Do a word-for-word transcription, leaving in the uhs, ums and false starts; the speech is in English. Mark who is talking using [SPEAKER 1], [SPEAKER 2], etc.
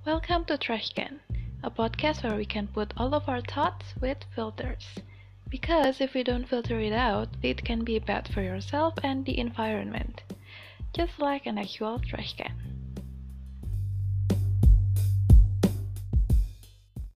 [SPEAKER 1] Welcome to Trash Can, a podcast where we can put all of our thoughts with filters. Because if we don't filter it out, it can be bad for yourself and the environment. Just like an actual trash can.